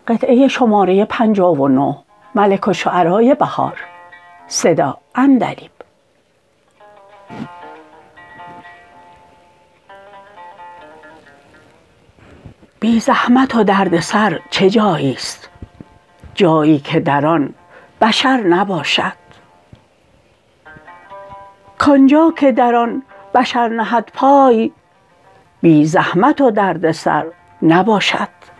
قطعه شماره 59 ملک الشعرای بهار صدا عندلیب. بی زحمت و دردسر چه جایی است، جایی که در آن بشر نباشد. کانجا که در آن بشر نهد پای، بی زحمت و دردسر نباشد.